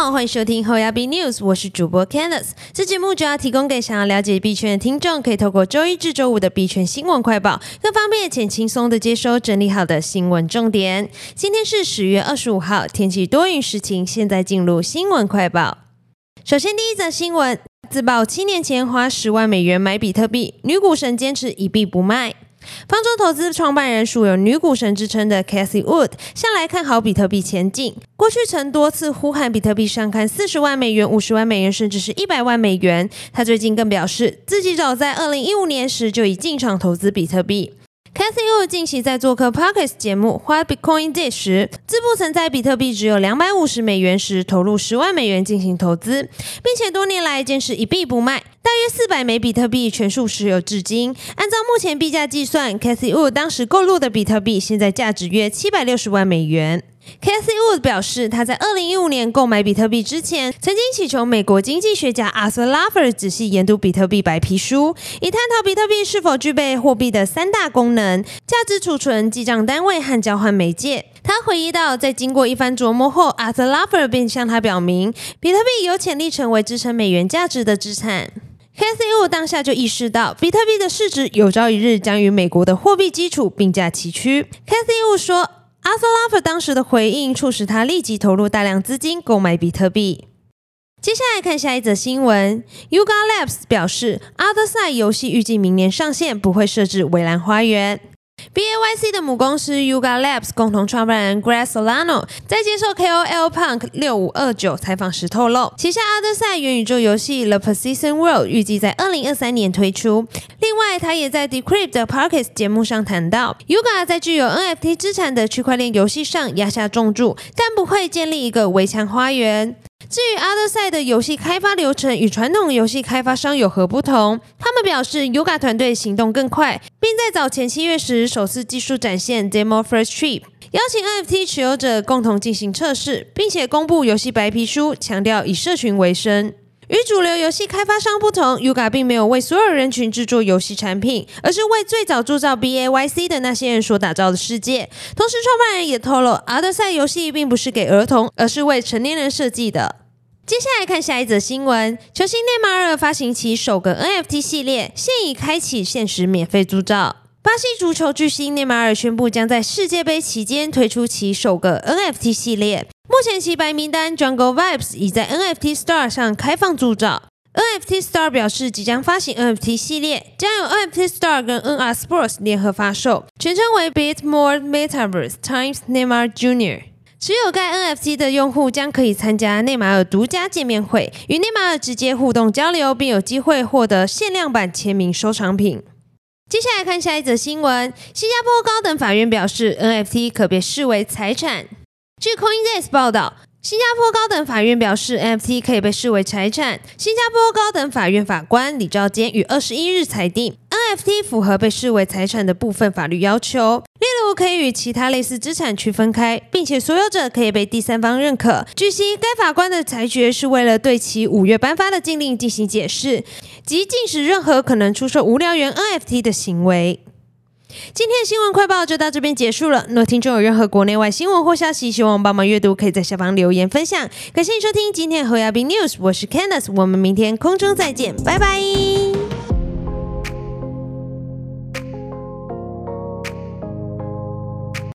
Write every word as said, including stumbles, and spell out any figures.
好，欢迎收听后亚币 News， 我是主播 Candice。这节目主要提供给想要了解币圈的听众，可以透过周一至周五的币圈新闻快报，更方便且轻松的接收整理好的新闻重点。今天是十月二十五号，天气多云时晴。现在进入新闻快报。首先，第一则新闻，自曝七年前花十万美元买比特币，女股神坚持一币不卖。方舟投资创办人素有女股神之称的 Cathie Wood 向来看好比特币前景，过去曾多次呼喊比特币上看四十万美元、五十万美元，甚至是一百万美元。他最近更表示，自己早在二零一五年时就已进场投资比特币。Cathie Wood 近期在做客 Podcast 节目 What Bitcoin Did 时，自曝曾在比特币只有两百五十美元时投入十万美元进行投资，并且多年来坚持一币不卖，大约四百枚比特币全数持有至今。按照目前币价计算， Cathie Wood 当时购入的比特币现在价值约七百六十万美元。Cathie Wood 表示，他在二零一五年购买比特币之前，曾经祈求美国经济学家 Arthur Laffer 仔细研读比特币白皮书，以探讨比特币是否具备货币的三大功能：价值储存、记账单位和交换媒介。他回忆到，在经过一番琢磨后， Arthur Laffer 便向他表明，比特币有潜力成为支撑美元价值的资产。Cathie Wood 当下就意识到，比特币的市值有朝一日将与美国的货币基础并驾齐驱。Cathie Wood 说，Arthur Laffer 当时的回应促使他立即投入大量资金购买比特币。接下来看下一则新闻 Yuga Labs 表示 Otherside 游戏预计明年上线，不会设置围栏花园。B A Y C 的母公司 Yuga Labs 共同创办人 Greg Solano 在接受 K O L Punk 六五二九采访时透露，旗下 Otherside 元宇宙游戏 The Persistent World 预计在二零二三年推出。另外，他也在 Decrypt 的 Podcast 节目上谈到 Yuga 在具有 N F T 资产的区块链游戏上压下重注，但不会建立一个围墙花园。至于 Otherside 的游戏开发流程与传统游戏开发商有何不同，他们表示 Yuga 团队行动更快，并在早前七月时首次技术展现 Demo First Trip， 邀请 N F T 持有者共同进行测试，并且公布游戏白皮书，强调以社群为生。与主流游戏开发商不同， Yuga 并没有为所有人群制作游戏产品，而是为最早铸造 B A Y C 的那些人所打造的世界。同时，创办人也透露 Otherside 游戏并不是给儿童，而是为成年人设计的。接下来看下一则新闻，球星内马尔发行其首个 N F T 系列，现已开启限时免费铸造。巴西足球巨星内马尔宣布将在世界杯期间推出其首个 N F T 系列。目前其白名单 Jungle Vibes 已在 N F T Store 上开放铸造。N F T Store 表示，即将发行 N F T 系列，将由 N F T Store 跟 N R Sports 联合发售，全称为 Bitmore Metaverse Times Neymar Junior持有该 N F T 的用户将可以参加内马尔独家见面会，与内马尔直接互动交流，并有机会获得限量版签名收藏品。接下来看下一则新闻，新加坡高等法院表示 N F T 可被视为财产。据 CoinDesk 报道，新加坡高等法院表示 N F T 可以被视为财产。新加坡高等法院法官李兆坚于二十一日裁定 N F T 符合被视为财产的部分法律要求，例如可以与其他类似资产区分开，并且所有者可以被第三方认可。据悉，该法官的裁决是为了对其五月颁发的禁令进行解释，即禁止任何可能出售无聊猿 N F T 的行为。今天的新闻快报就到这边结束了。若听众有任何国内外新闻或消息，希望帮忙阅读，可以在下方留言分享。感谢你收听今天的侯亚斌 News， 我是 Candice， 我们明天空中再见，拜拜。